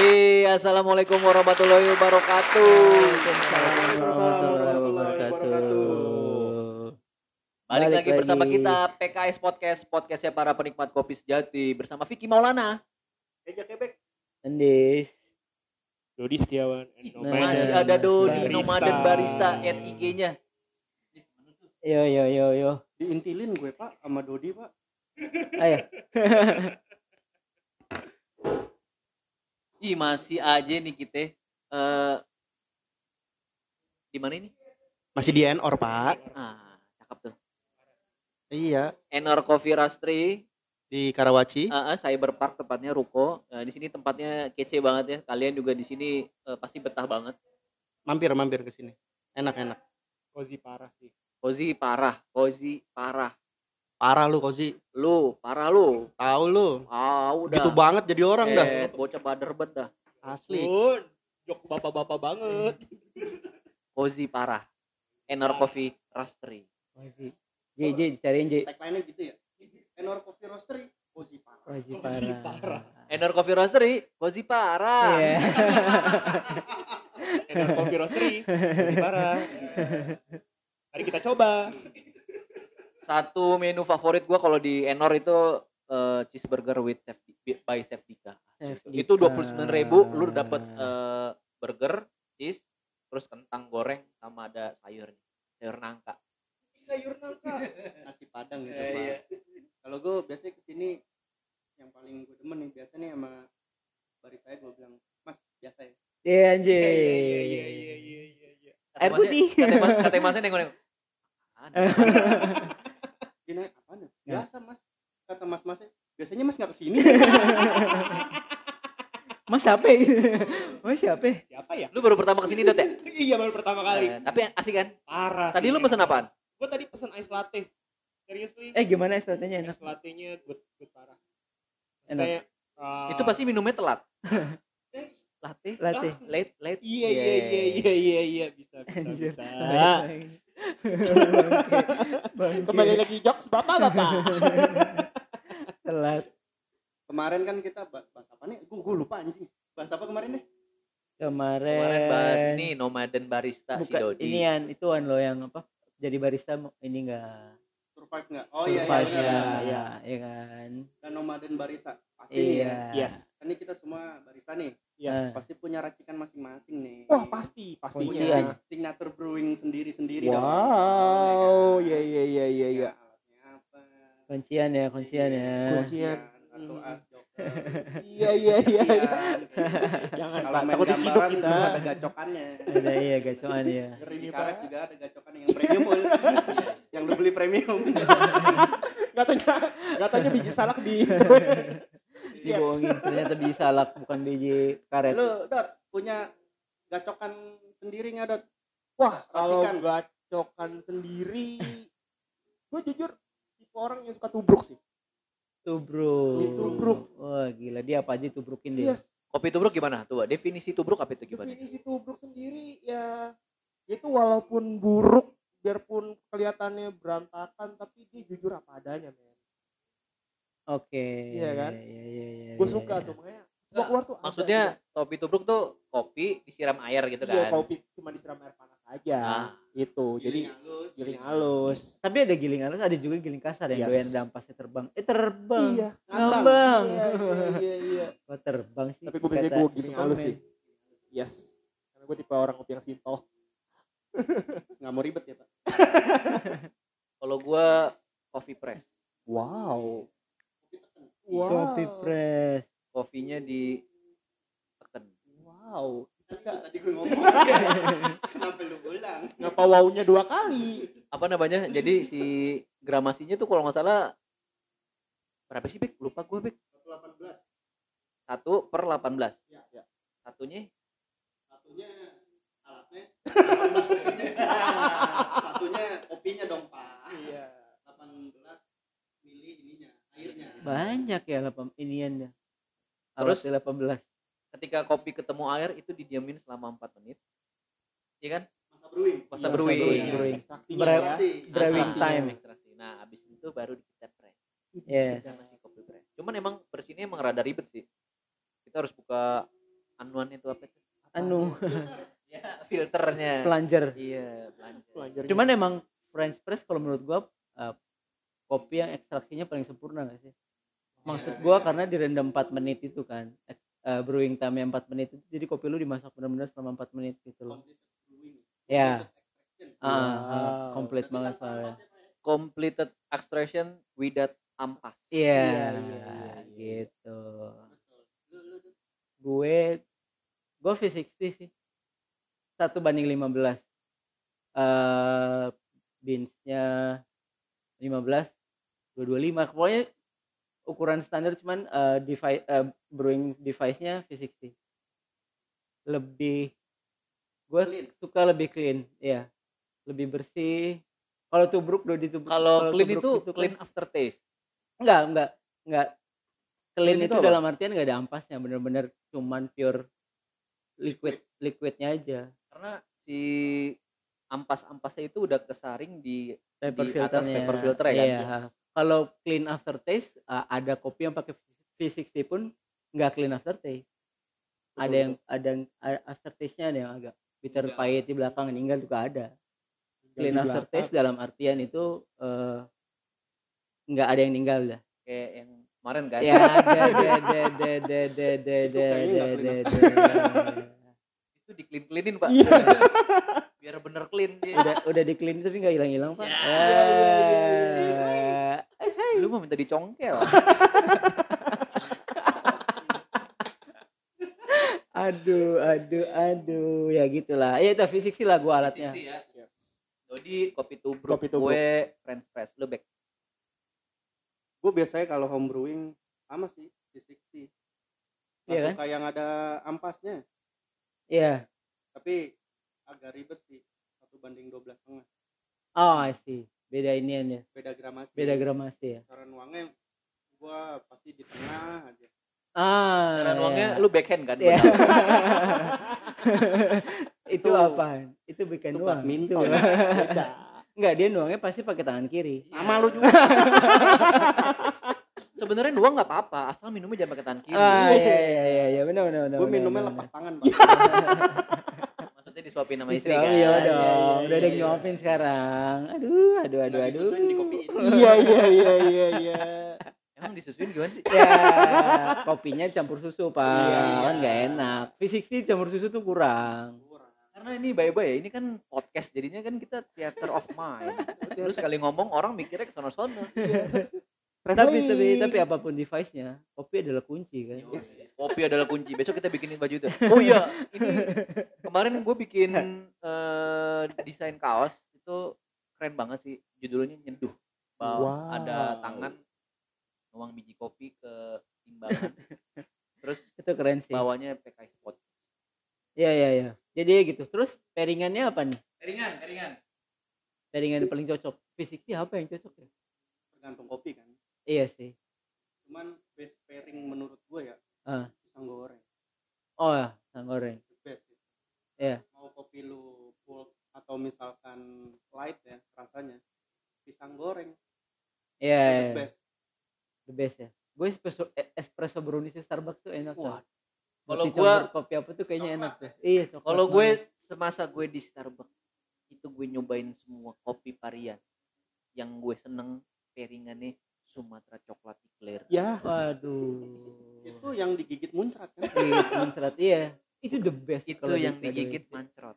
Assalamualaikum warahmatullahi wabarakatuh. Waalaikumsalam warahmatullahi wabarakatuh. Balik lagi bersama kita PKS Podcastnya para penikmat kopi sejati bersama Vicky Maulana, Eja Kebek, Andis, Dodi Setiawan, masih ada Dodi Nomaden Barista IG-nya. Yo. diintilin gue Pak sama Dodi Pak. Ayo. Ih masih aja nih kita di mana ini? Masih di Enor Pak. Cakep tuh. Iya. Enor Coffee Roastery Di Karawaci. Cyberpark tepatnya ruko. Di sini tempatnya kece banget ya. Kalian juga di sini pasti betah banget. Mampir ke sini. Enak. Cozy parah sih. Cozy parah. Parah lu Kozi. Lu parah lu. Tahu lu. Udah. Gitu banget jadi orang dah. Bocah bader bet dah. Asli. Jok bapak-bapak banget. Cozy parah. Enor Coffee Roastery. J dicariin J. Tagline-nya gitu ya. Enor Coffee Roastery. Cozy parah. Cozy parah. Enor Coffee Roastery, Cozy parah. Iya. Enor Coffee Roastery, cozy parah. Mari kita coba. Satu menu favorit gua kalau di Enor itu cheeseburger with by Chef Dika. Itu 29.000 lu dapat burger, cheese, terus kentang goreng sama ada sayur nangka. Sayur nangka. Nasi Padang gitu Pak. Kalau gue biasanya kesini yang paling gue demen nih biasanya sama barista gue bilang, "Mas, biasa ya." Iya anjir. Iya. Air putih. Kata masnya nengok. Gini, apaan ya? Biasa Mas. Kata mas-masnya, biasanya Mas nggak kesini. Mas siapa? Mas siapa? Siapa ya? Lu baru pertama kesini Dot ya? Iya, baru pertama kali. Tapi asik kan? Parah. Tadi lu pesen apaan? Gue tadi pesen ice latte. Seriously? Gimana estratenya enak? Ice latte-nya good parah. Enak. Kayak, Itu pasti minumnya telat. Latte. Late. Iya. Bisa. Kembali lagi jokes bapak. Telat. Kemarin kan kita bahas apa nih? Gue lupa anjing. Bahas apa kemarin deh? Kemarin bahas ini Nomaden Barista si Dodi. Inian ituan lo yang apa? Jadi barista ini enggak Survive nggak? survive iya. ya kan. Dan Nomaden Barista pasti Iya. Yes. Ini kita semua barista nih. Yes. Pasti punya racikan masing-masing nih. Wah, pastinya. Kuncian. Signature brewing sendiri-sendiri dong. Wow, Ya kan? iya. Alatnya apa? Kuncian ya. Kuncian. Atau as joker. Iya. Jangan Kalau Pak, main takut diciduk gambaran kita. itu ada gacokannya. Ada iya gacoan ya. Di karet juga ada gacokan yang premium. Yang lu beli premium. Katanya biji salak di Dibohongin ternyata biji salak bukan biji karet. Lu Dot punya gacokan sendiri nggak Dot? Wah, kalau Racikan. gacokan sendiri gue jujur tipe orang yang suka tubruk sih. Tubruk. Wah gila, dia apa aja tubrukin dia. Yes. Kopi tubruk gimana? Tuh, definisi tubruk apa itu gimana? Definisi tubruk sendiri ya itu walaupun buruk biarpun kelihatannya berantakan tapi dia jujur apa adanya, men. Oke. Iya kan? Iya. Gue suka tuh makanya semua keluar tuh ada Maksudnya gitu. kopi tubruk tuh kopi disiram air gitu Iya, kan? kopi cuma disiram air panas aja. Ah. Itu. Jadi giling halus. Tapi ada giling halus, ada juga giling kasar yang Yes. doyan dampasnya terbang. Terbang. Iya. Ngambang. Iya. Kok terbang sih? Tapi gue biasanya Kata gue giling halus Superman. sih. Yes. Karena gue tipe orang kopi yang simple. Nggak mau ribet ya Pak? Kalau gua coffee press. Wow. Kopi press. Kopinya diteken. Wow. Tadi gue ngomong. Kenapa lu ulang? Ngapa wownya 2 kali? Apa namanya? Jadi si gramasinya tuh kalau nggak salah berapa sih Bek? Lupa gue Bek. 118. 1/18. Ya. Satunya Alatnya. Satunya kopinya dong Pak. Iya. 18 mili ininya, airnya. Banyak ya iniannya. Terus? Alatnya 18. ketika kopi ketemu air itu didiamin selama 4 menit. Iya kan? Masa Masa brewing. brewing. Ekstraksinya Bre- ya. brewing Ekstraksi. time. Ekstraksi. Nah, abis itu baru kita press. Yes. Kita masih kopi press. Cuman emang bersihnya emang rada ribet sih. Kita harus buka anuan itu apa tuh? Anu Ya, filternya. pelanjar. Iya, Pelajarnya. Cuman emang French press kalau menurut gua kopi yang ekstraksinya paling sempurna gak sih? Maksud gua karena direndam 4 menit itu kan. Brewing time 4 menit itu, jadi kopi lu dimasak benar-benar selama 4 menit gitu loh. Ya. Komplit banget soalnya. completed extraction without ampas. Iya, gitu. Gue V60 sih. 1:15. Beans-nya 15, 225. Pokoknya ukuran standar, cuman brewing device-nya V60. Lebih gue suka lebih clean, ya. Lebih bersih. Kalau tubruk udah ditubruk. Kalau clean itu kan, clean aftertaste. Enggak. Clean itu apa? dalam artian enggak ada ampasnya, bener-bener cuman pure liquidnya aja. Karena si ampas-ampasnya itu udah kesaring di Paper di atas filternya. paper filter ya kan. Iya. Kalau clean aftertaste, ada kopi yang pakai V60 pun enggak clean aftertaste. Ada yang aftertaste-nya ada yang agak bitter pahit di belakang, ninggal juga ada. Clean aftertaste dalam artian itu enggak ada yang ninggal dah. Kayak yang kemarin kan. Ya, Itu di clean-cleanin, Pak. Iya. Biar bener clean dia. udah di clean tapi nggak hilang-hilang, Pak. Lu mau minta dicongkel. Aduh, ya gitulah. Ya itu fisik sih lah gua alatnya. Ya. Jadi kopi tubruk, Kopi tubruk. gue French press, lu back. Gue biasanya kalau home brewing sama sih V60. Iya kan? Suka yang ada ampasnya, Iya. tapi agak ribet sih, 1:12,5. Oh, I see. Beda inian ya. Beda gramasi. Gramasi ya. Cara nuangnya gue pasti di tengah aja. Cara nuangnya lu backhand kan? Iya. Itu apaan? Itu bukan Itu nuang. badminton. Enggak, dia nuangnya pasti pakai tangan kiri. Sama lu juga. Sebenarnya nuang nggak apa-apa, asal minumnya jangan pakai tangan kiri. Iya, benar. Gue minumnya lepas tangan, Pak. Maksudnya disuapin sama istri Istri kan? Iya dong. Udah ada yang nyuapin sekarang. Aduh. Disusuin di kopiin. Iya. Emang disusuin gimana sih? Ya, kopinya campur susu, Pak. Iya. Kan enggak enak. V60 campur susu tuh kurang. Karena ini bye-bye ya, ini kan podcast jadinya kan kita theater of mind. Terus sekali ngomong orang mikirnya ke sono-sono. Tapi apapun device-nya, kopi adalah kunci kan. Kopi adalah kunci. Besok kita bikinin baju itu. Oh iya, ini kemarin gue bikin desain kaos itu keren banget sih. Judulnya Nyeduh. Wow. Ada tangan nuang biji kopi ke timbangan. Terus Itu keren sih. bawahnya PKI Spot. Iya. Jadi gitu. Terus pairingannya apa nih? Pairingan. Pairingan paling cocok. V60 apa yang cocok ya? Tergantung kopi kan. Iya sih. Cuman best pairing menurut gue ya pisang goreng. Oh ya, pisang goreng. The best. Iya. Mau kopi lu full atau misalkan light ya rasanya, pisang goreng. Iya. The best. The best ya. Gue espresso brownies di Starbucks tuh enak. Wah. Kalau Kalau gua kopi apa tuh kayaknya enak tuh. Iya, coklat. Kalau gue banget. semasa gue di Starbucks itu gue nyobain semua kopi varian. Yang gue seneng pairingannya Sumatera coklat eclair. Ya. Waduh. Itu yang digigit muncrat kan. Digigit muncrat, iya. Itu the best. Itu kalau yang di- digigit mancrot.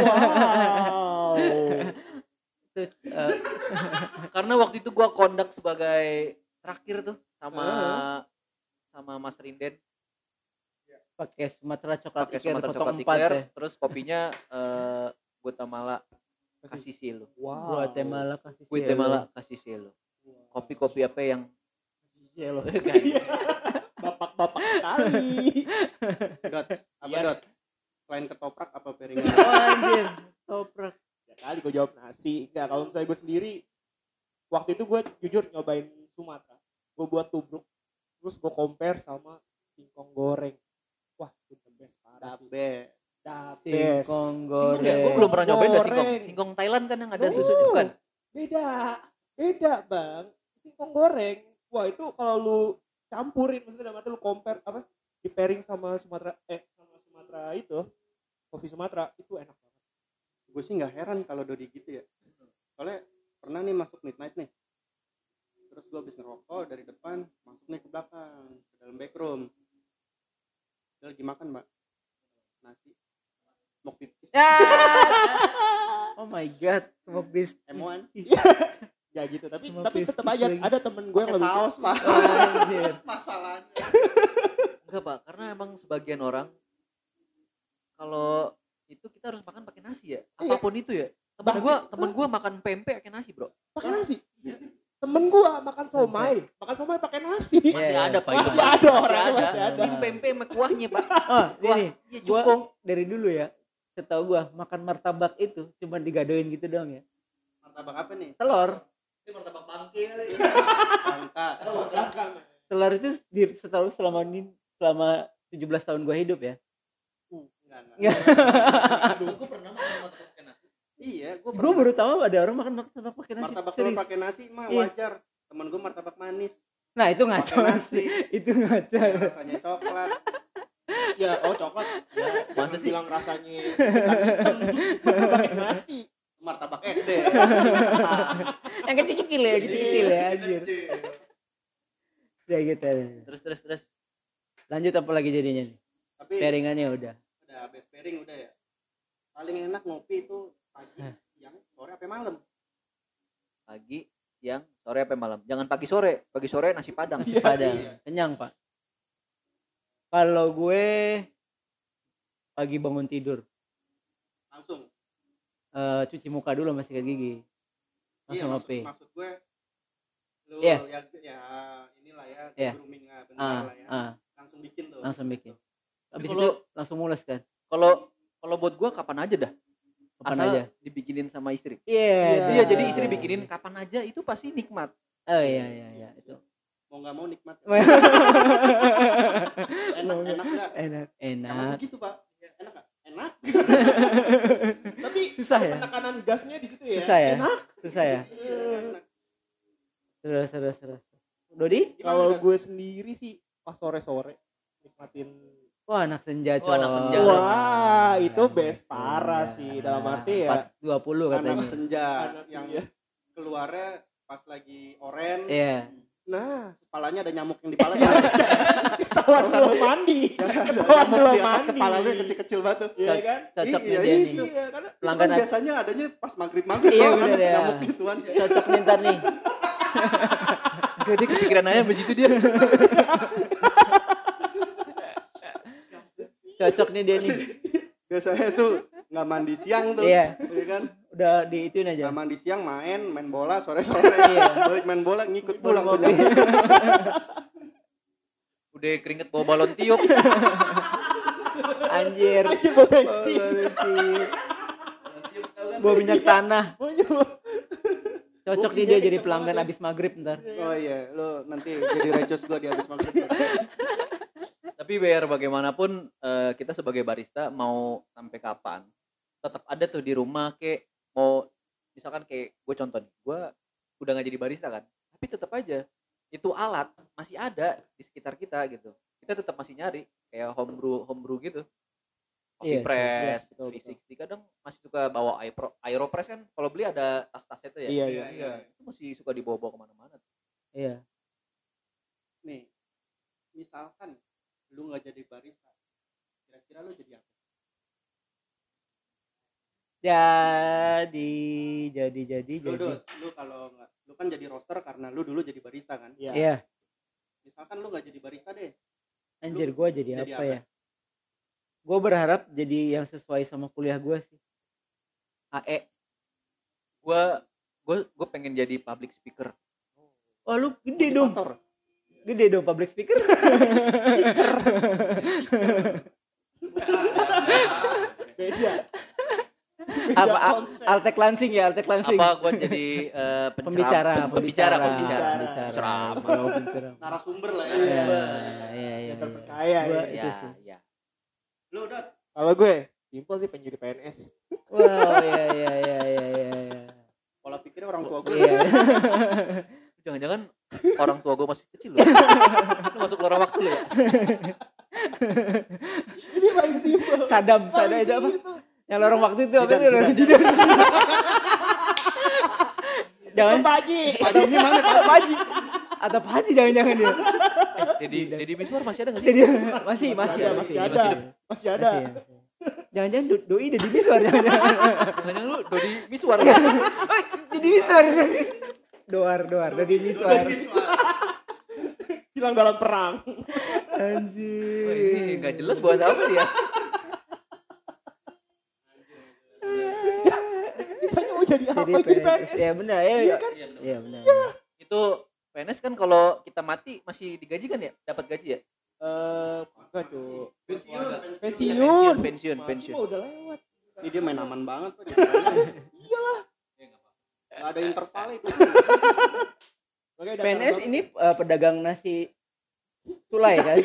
Wow. Itu, Karena waktu itu gue kondak sebagai terakhir tuh sama Mas Rinden pakai Sumatera coklat pakai eclair Sumatera potong coklat 4 eclair, ya. terus kopinya Guatemala kasih silo. Wow. Guatemala kasih Guatemala kasih silo. Kopi-kopi apa yang Iya loh. Kan? Bapak-bapak sekali. Dot, apa Yes. Dot? Selain ketoprak apa pairingan? Oh anjir, toprak. Ya kali gue jawab nasi. Enggak, kalau misalnya gue sendiri waktu itu gue jujur nyobain Sumatera. Gue buat tubruk. Terus gue compare sama singkong goreng. Wah, itu the best parah sih. Dabe. The best. Singkong Singkong ya? Gue goreng. belum pernah nyobain dah singkong. Goreng. Singkong Thailand kan yang ada Oh. susunya bukan? Beda bang. Singkong goreng. Wah itu kalau lu campurin, maksudnya dalam arti lu compare apa? Di pairing sama Sumatera Sumatera itu, kopi Sumatera itu enak banget. Gue sih nggak heran kalau Dodi gitu ya. Soalnya pernah nih masuk midnight nih. Terus gue habis ngerokok dari depan, masuk nih ke belakang, ke dalam backroom. Dia lagi makan, Mbak. Nasi. Smoke pipis. Oh my god, semua bis. Emoan. Ya gitu, tapi Semua tetap 50s aja lagi. ada temen gue yang Pakai lebih saus, Pak. Anjir. Masalahnya. Enggak Pak, karena emang sebagian orang kalau itu kita harus makan pakai nasi ya. Apapun itu ya. Temen gua makan pempek pakai nasi, Bro. pakai nasi. Temen gue makan somai pakai nasi. Masih Iya, ada Pak itu. masih Pak. ada orang, Masih masih ada. Ini pempek sama kuahnya, Pak. Oh, Kuah, ini iya gua cukong. dari dulu ya, setahu gua makan martabak itu cuma digadoin gitu doang ya. Martabak apa nih? Telur. Ini martabak bangke kali. Angka. Telur itu setahu selama 17 tahun gua hidup ya. Enggak. Aduh, gua pernah makan martabak pakai nasi. Iya, gue Gua baru tahu ada orang makan martabak pakai nasi. martabak telur Serius. pakai nasi mah Iya. wajar. Temen gue martabak manis. Nah, itu ngaco Pakai nasi. Itu ngaco. Rasanya coklat. Ya, coklat. Ya, Masa jangan sih? bilang rasanya hitam pakai nasi. Martabak SD. Yang kecil-kecil ya, kecil-kecil ya anjir. Ya gitu. Terus. Lanjut apa lagi jadinya nih? Tapi Pairingannya udah. best pairing udah ya. Paling enak ngopi itu pagi, siang, sore apa malam. Pagi, siang, sore apa malam. Jangan pagi sore. Pagi sore nasi padang. Nasi padang. Kenyang, Pak. Kalau gue pagi bangun tidur, Langsung. cuci muka dulu sama sikat gigi. Iya, Langsung ngopi. maksud gue lu Iya. ya inilah ya, Iya. grooming bentar lah ya. Langsung bikin tuh. Langsung bikin. Habis Kalau- itu langsung mules kan. Kalau buat gua kapan aja dah. Kapan Asal aja. dibikinin sama istri. Iya. Iya, jadi istri bikinin kapan aja itu pasti nikmat. Oh iya itu. Mau nggak mau nikmat. enak, Enak nggak? enak. Sama begitu, Pak. Enak nggak? Enak. Tapi Susah ya? penekanan gasnya di situ ya. Susah ya? Enak. Susah ya. Enak. Terus. Dodi? Kalau gue sendiri sih pas sore-sore nikmatin. Wah, anak senja, Oh, anak senja. Wah, Iya, itu anak best senja. parah sih dalam arti ya. 420 katanya. Anak senja Anak yang senja. keluarnya pas lagi oren. Iya. Nah, Kepalanya ada nyamuk yang di kepala. ketahuan belum mandi. Ada Ketahuan nyamuk belum di atas mandi. kepalanya kecil-kecil banget tuh. Iya kan? Cocok Iya, nih dia nih. Iya, karena Itu Pelanggan kan biasanya adanya pas maghrib-maghrib. Iya, kan bener ya. nyamuk gituan. Cocok nih ntar nih. Jadi kepikiran aja sampai situ dia. Cocok nih dia nih. Biasanya tuh nggak mandi siang tuh. Iya. Iya kan? Udah diituin aja. Nggak mandi siang main bola sore-sore. Iya. Balik main bola ngikut pulang tuh. Ngopi. Udah keringet bawa balon tiup. Anjir. Anjir, bawa bensin. Bawa minyak tanah. Oh, nyoba. Cocok nih dia jadi pelanggan abis maghrib ntar. Oh iya, lo nanti jadi recos gua di habis maghrib. Tapi biar bagaimanapun kita sebagai barista mau sampai kapan tetap ada tuh di rumah kayak mau misalkan kayak gue contoh nih, gue udah nggak jadi barista kan, tapi tetap aja itu alat masih ada di sekitar kita gitu. Kita tetap masih nyari kayak homebrew gitu. Coffee Iya sih, press, jelas, betul, betul. 360 kadang masih suka bawa aeropress kan, kalau beli ada tas-tasnya tuh ya. Iya, Iya, iya. Itu masih suka dibawa-bawa kemana-mana. Iya. Nih, misalkan lu nggak jadi barista, kira-kira lu jadi apa? Jadi. Lu kalau nggak, lu kan jadi roaster karena lu dulu jadi barista kan. Iya. Iya. Misalkan lu nggak jadi barista deh, Anjir, gue jadi jadi apa apa? ya? Gue berharap jadi yang sesuai sama kuliah gue sih. AE. Gue pengen jadi public speaker. Oh, lu gede dong. Motivator. Gede dong public speaker. Beda. Apa konsep. Altek Lansing ya, Altek Lansing. Apa gue jadi Pembicara. ceramah. Oh, penceramah. Narasumber lah ya. Iya, Yang iya. terpercaya Gua ya. itu Ya, sih. ya. Lu udah Kalau gue simpel sih pengen jadi PNS. Wow, iya. pola pikirnya orang tua gue. Iya. Jangan-jangan orang tua gue masih kecil loh. Lu masuk lorong waktu lo ya. Ini paling simpel. Sadam itu apa? Yang lorong waktu itu apa itu? Lorong jidat. Jangan Pak Haji. Pak Haji ini mana Pak? Pak Haji. Atau Pak Haji jangan-jangan dia. Dedi Miswar masih ada nggak sih? Jadi masih ada. Masih ada. Jangan-jangan doi Dedi Miswar jangan-jangan. Jangan lu Dodi Miswar. Dedi Miswar. Doar Dedi Miswar. Hilang dalam perang. Anjir. Wah, ini nggak jelas buat apa dia. Ditanya mau jadi apa? Jadi PNS. Ya benar ya. Iya benar. Itu PNS kan kalau kita mati masih digaji kan ya? Dapat gaji ya? Enggak tuh. Pensiun. Pensiun. Oh, udah lewat. Ini dia main aman banget Pak. Iyalah. Gak ada interval itu. PNS ini pedagang nasi sulai kan?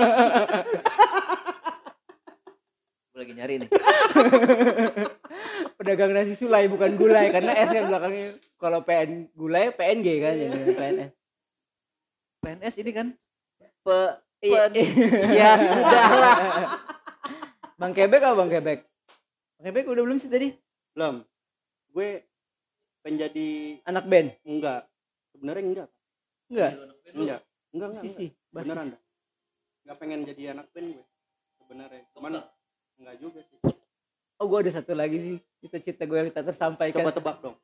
Gue lagi nyari nih. Pedagang nasi sulai bukan gulai karena S kan belakangnya. Kalau PN gulai PNG kan jadi PNS. PNS ini kan ya sudahlah. Bang Kebek apa Bang Kebek? Bang Kebek udah belum sih tadi? Belum. Gue penjadi Anak band? enggak. Sebenarnya enggak. Enggak. Sisi. Beneran dah. Enggak pengen jadi anak band gue. Sebenarnya. Cuman enggak juga sih. Oh gue ada satu lagi sih cita-cita gue yang tak tersampaikan. Coba tebak dong.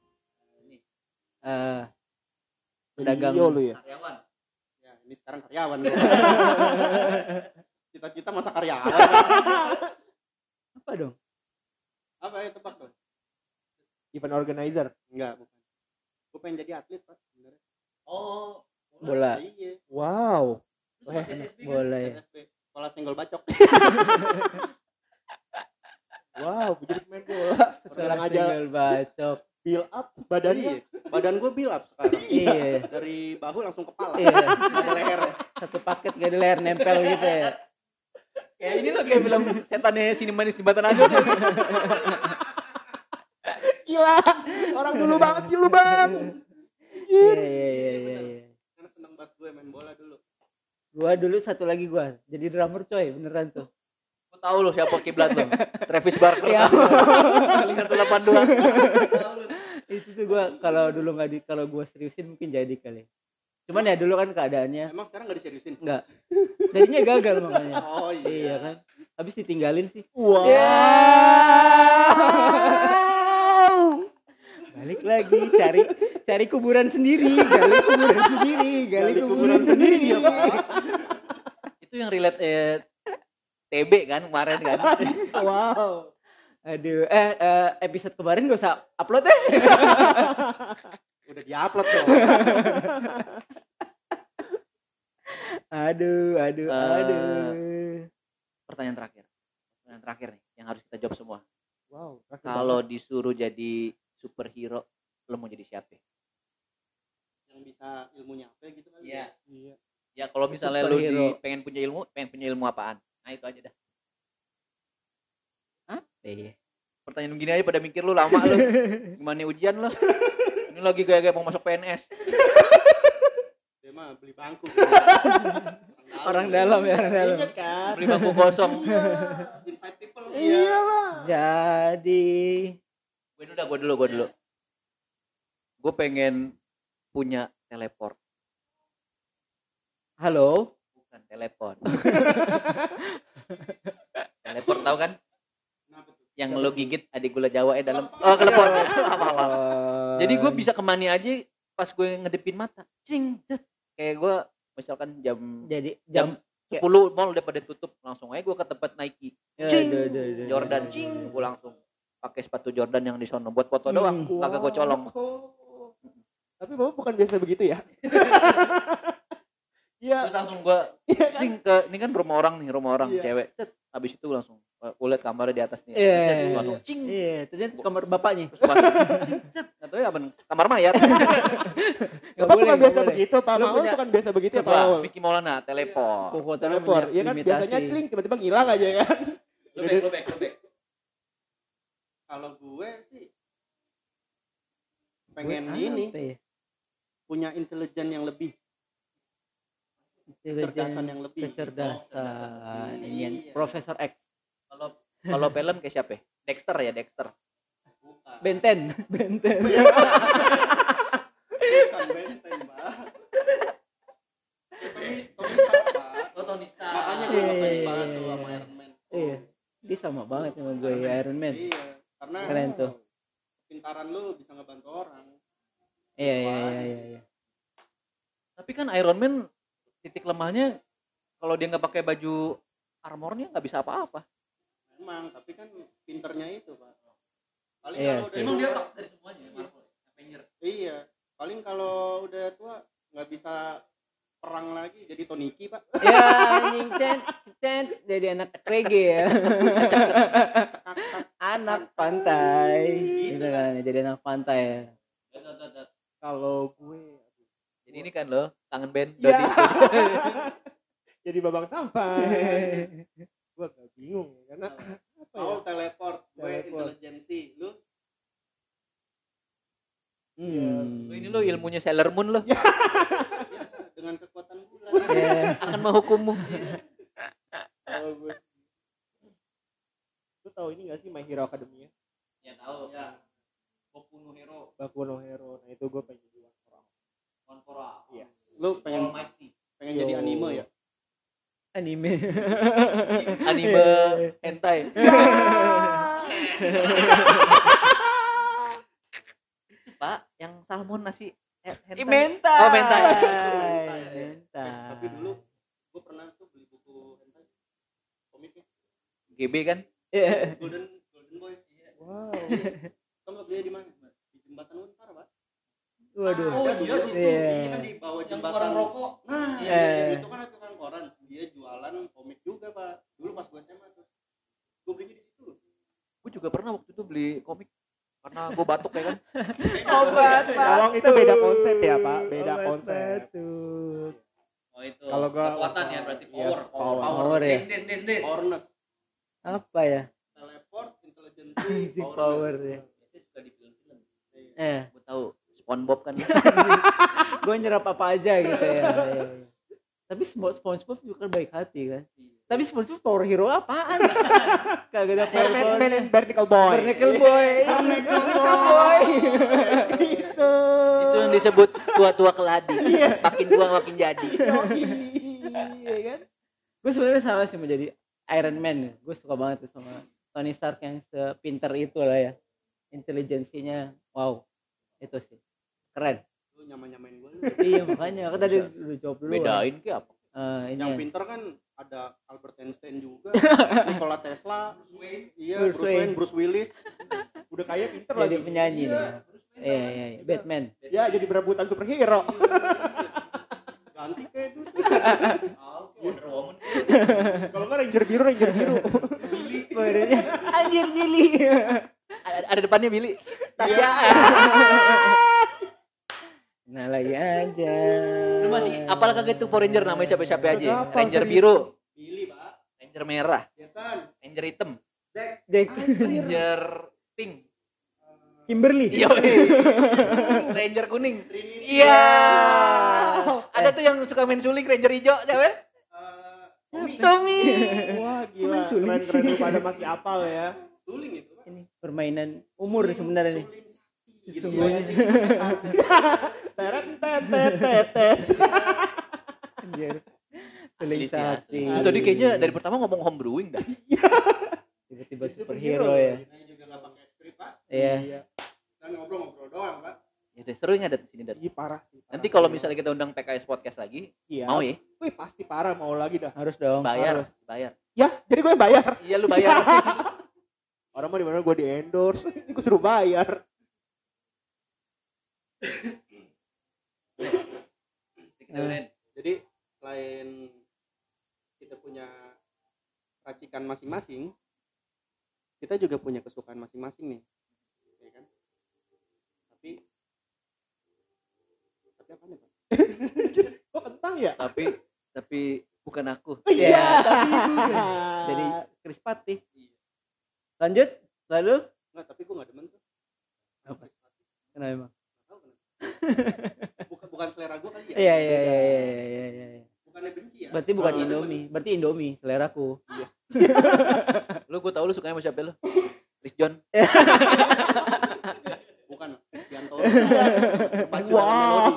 Pedagang Yo lu ya. Karyawan. Ya, ini sekarang karyawan gue. Cita-cita masa karyawan. apa dong? Apa ya tebak dong? Event organizer. Enggak, bukan. Gue pengen jadi atlet, Pak, sebenarnya. Oh, Bola. Iya. Wow. Bola ya. SSB. Sekolah senggol bacok. Wow, jadi pemain bola. Sekarang aja Single bacok. build up badannya. Iya. Badan gue build up sekarang. Iya. Dari bahu langsung kepala. Iya. Ada lehernya. Satu paket gak ada leher nempel gitu ya. kayak ini loh kayak film setannya Sini Manis Jembatan Aja tuh. Gila. Orang dulu banget sih lu, Bang. Iya. Karena seneng banget gue main bola dulu. Gua dulu satu lagi gua jadi drummer coy, beneran tuh. Gue tahu loh siapa kiblat lo. Travis Barker. Iya. Kali 182. Itu tuh gua kalau gua seriusin mungkin jadi kali. Cuman ya dulu kan keadaannya Emang sekarang gak diseriusin? enggak. Jadinya gagal makanya. Oh iya. Iya kan. Habis ditinggalin sih. Wow. Ya. Balik lagi cari kuburan sendiri, gali kuburan sendiri. ya Pak. Itu yang relate TB kan kemarin kan. Wow. Aduh, episode kemarin gak usah upload ya. Udah diupload dong. Aduh. Pertanyaan terakhir nih yang harus kita jawab semua. Wow. Kalau disuruh jadi superhero, lo mau jadi siapa? Yang bisa ilmunya apa gitu kali. Iya. Iya. Ya kalau misalnya lu Superhero. pengen punya ilmu apaan? Nah itu aja dah. Iya. Pertanyaan gini aja pada mikir lu lama lu. Gimana ujian lu? Ini lagi kayak mau masuk PNS. Dia mah beli bangku. Orang dalam ya, orang dalam. Ingat kan? Beli bangku kosong. Inside people. Iyalah. Jadi Gue dulu. Gue pengen punya teleport. halo. Bukan telepon. Teleport tahu kan? Kenapa tuh? Yang lo gigit adik gula Jawa dalam. Oh, teleport. Apa. Jadi gue bisa kemana aja pas gue ngedepin mata. Cing, cet. Kayak gue misalkan jam Jadi jam 10 mall udah pada tutup, langsung aja gue ke tempat Nike. Cing. Jordan cing, gue langsung pakai sepatu Jordan yang di sono buat foto doang, kagak gue colong. Tapi Bapak bukan biasa begitu ya? Iya. Terus langsung gue cing ke ini kan rumah orang Iya. cewek. Cet. Habis itu langsung gue liat kamarnya di atas nih. Iya. Cet, gua langsung cing. Iya, ternyata kamar bapaknya. Terus masuk. Cing, cet. Nggak tahu ya apa kamar mayat. Bapak bukan biasa boleh. begitu, Pak Lu Maul punya- bukan biasa begitu ya, Pak Coba Maul. Vicky Maulana teleport. Teleport, ya kan biasanya celing tiba-tiba ngilang aja kan. Lu back. Kalau gue sih pengen Apa ini ya? punya intelijen yang lebih. kecerdasan yang lebih. kecerdasan Iya. ini Profesor X. Kalau film kayak siapa? Dexter ya, Dexter. Bukan. Benten. Bukan Benten, Pak. Tony Stark, Pak. Oh, Tony Stark. Makanya gue ngefans banget tuh sama Iron Man. Iya, dia sama banget sama gue Iron Man. Iya, karena Keren tuh. pintaran lu bisa ngebantu orang. Iya. Tapi kan Iron Man titik lemahnya kalau dia nggak pakai baju armornya nggak bisa apa-apa. Memang, tapi kan pinternya itu, Pak. Paling Iya kalau sih. udah tua, top dari semuanya Marvel, Avenger. iya. Paling kalau udah tua nggak bisa perang lagi jadi Toniki, Pak. Ya anjing cent jadi anak reggae ya. Anak pantai. Gitu kan, jadi anak pantai ya. Kalau gue Jadi ini kan loh, kangen band Ya. Dodi. jadi babang tampan. Gue gak bingung ya karena apa ya? Paul teleport, gue Teleport. intelijensi, lu Lo ini lo ilmunya Sailor Moon lo ya, dengan kekuatan bulan. Ya. akan menghukummu. Kalau gue lu tahu ini gak sih My Hero Academia? Ya tahu. Ya. Boku no Hero, Baku no Hero. Nah itu gue pengen jadi orang. One for All. Iya. Lu pengen Almighty. jadi Yo. anime ya? Anime. Anime hentai. Pak, yang salmon nasi hentai. Mentai. Oh, mentai. Mentai. Tapi dulu gue pernah tuh beli buku hentai komiknya GB kan? Iya. Golden Boy. Wow. Tau nggak belinya di mana? Di jembatan Untar, Pak. Waduh. Oh, Ada iya dulu. sih. Iya. Ini kan di bawah Yang jembatan. orang rokok. Nah, Iya. yang itu kan ada tukang koran. Dia jualan komik juga, Pak. Dulu pas gue SMA tuh. Gue belinya di situ. Gue juga pernah waktu itu beli komik karena gue batuk ya kan. Obat Tolong itu beda konsep ya, Pak. Beda konsep. batuk. Oh itu. Kalau gua- Kekuatan ya berarti Yes, power. power ya. Des. Powerness, Apa ya? teleport, intelligence, Power ya. Biasanya suka di film-film. Eh, Gue tahu SpongeBob kan. gue nyerap apa aja gitu ya. Iya. Tapi SpongeBob juga baik hati kan. Tapi SpongeBob power hero apaan? Kagak ada power. Man and Barnacle Boy. Barnacle Boy. Barnacle Boy. Itu. Itu yang disebut tua-tua keladi. Makin tua makin jadi. Iya kan? Gue sebenarnya sama sih mau jadi Iron Man. Gue suka banget tuh sama Tony Stark yang sepinter itu lah ya. Intelijensinya wow. Itu sih. Keren. Lu nyamain gue. Iya makanya. Kan tadi udah jawab dulu. Bedain ke apa? Ini Yang ya. pinter kan ada Albert Einstein juga, Nikola Tesla, iya, Bruce Bruce Wayne, Wayne. Bruce Willis. Udah kayak pinter Jadi lagi. penyanyi nih. Iya. Batman. Ya jadi berebutan superhero. Ganti kayak gitu. Wonder Woman. Kalau nggak Ranger biru. Badannya anjir Billy. Ada depannya Billy. Tasya. Nah lagi aja. Lu masih apalah kagak tuh Power Ranger namanya siapa-siapa aja. Kagak apa, Ranger serius. biru, Billy, Pak. Ranger merah, Jason, Ranger hitam, Jack Ranger pink. Kimberly. Iya. Ranger kuning. Trinity, Iya. Ada tuh yang suka main suling Ranger hijau siapa? Tommy. Tommy. Wah gila. Main suling. Keren lu pada masih apal ya. Suling itu, Pak. Ini permainan umur sebenarnya nih. Suling sakti. Sesungguhnya. Gitu ya. Teret tet. Anjir. Suling Asli sih, sakti. asli. Tadi kayaknya dari pertama ngomong home brewing dah. Tiba-tiba superhero ya. Kita juga nggak pakai skrip, Pak. Iya. Dan ngobrol-ngobrol doang, Pak. Ya deh, seru nggak di sini, Dat. Ih parah sih. Nanti kalau misalnya kita undang PKS podcast lagi, Iya. mau ya? Wih pasti parah mau lagi dah. Harus dong. Bayar, harus. bayar. Ya jadi gue yang bayar. Iya lu bayar. Orang mau di mana gue di endorse. Ini gue suruh bayar. Kita udahin. Jadi selain kita punya racikan masing-masing, kita juga punya kesukaan masing-masing nih, ya kan? Tapi apa nih, Pak? Kok kentang ya? Tapi bukan aku. Iya. Jadi Chris Patti. Lanjut. Lalu Enggak, tapi gue nggak demen tuh. apa? Kenapa emang? Nggak tahu kenapa. Bukan selera gue kali ya. Iya. Gue Bukannya benci ya? Berarti bukan Indomie, berarti Indomie seleraku. Lu gue tau lu sukanya sama siapa lu? Chris John. Bukan Kristianto. Pacu dalam melodi.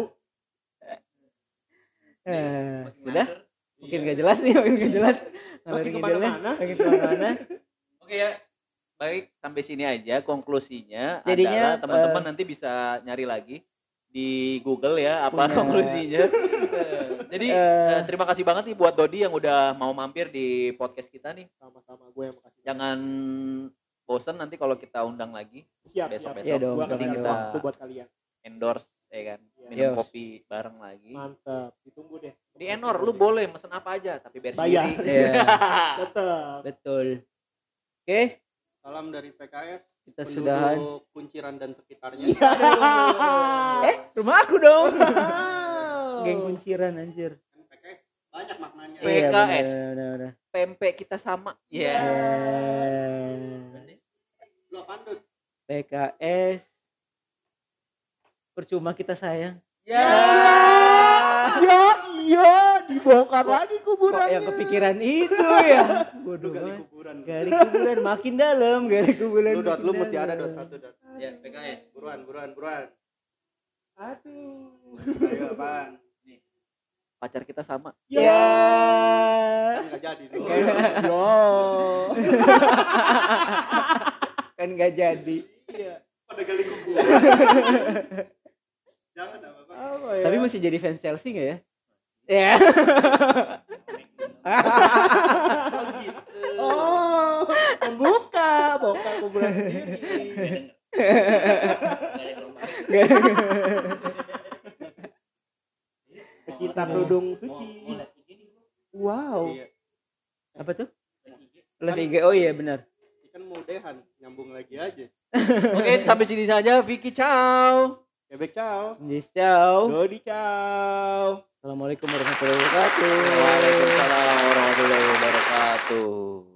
Sudah? Mungkin gak jelas nih, makin gak jelas. Ngalor ngidulnya, makin kemana-mana. Oke ya. Baik, sampai sini aja konklusinya. Jadinya, adalah teman-teman nanti bisa nyari lagi di Google ya apa Punya- konklusinya. Jadi terima kasih banget nih buat Dodi yang udah mau mampir di podcast kita nih. Sama-sama, gue yang makasih. Jangan bosen nanti kalau kita undang lagi Siap. besok-besok. Iya dong, Gue nanti kasih kita waktu buat kalian. endorse ya kan. Iya. Minum Yes. kopi bareng lagi. Mantap, ditunggu deh. Di Enor lu boleh mesen apa aja tapi bayar Bayar. sendiri. Iya, Tetap. betul. Oke, Salam dari PKS. kita Penduduk sudahan. Kunciran dan sekitarnya. Rumah aku dong. Geng kunciran anjir. Kan PKS banyak maknanya. Iya. PKS. Benar. Pempek kita sama. Iya. Lu apaan tuh? PKS. Percuma kita sayang. Ya. Ya iya, dibongkar lagi Kok kuburannya. yang kepikiran itu ya? Lu Bodoh gali banget. kuburan. Gali kuburan makin dalam, gali kuburan. Lu dot, makin lu mesti dalam. ada dot satu dot. Ya, PKS. Buruan. Aduh. Ayo apaan? Pacar kita sama. Ya. Kan enggak jadi lu. Yo. Kan gak jadi. Iya. Pada gali kuburan. Jangan apa-apa. Apa ya? Tapi masih jadi fans Chelsea gak ya? Ya. Oh gitu. Oh, membuka, bongkar kuburan sendiri. Pecinta kerudung suci. Wow. Iya. Apa tuh? Live IG. Oh iya benar. Kan mau dehan, nyambung lagi aja. Oke, sampai sini saja. Vicky, ciao. Bebek ciao. Yes, ciao. Dodi ciao. Assalamualaikum warahmatullahi wabarakatuh. Waalaikumsalam warahmatullahi wabarakatuh.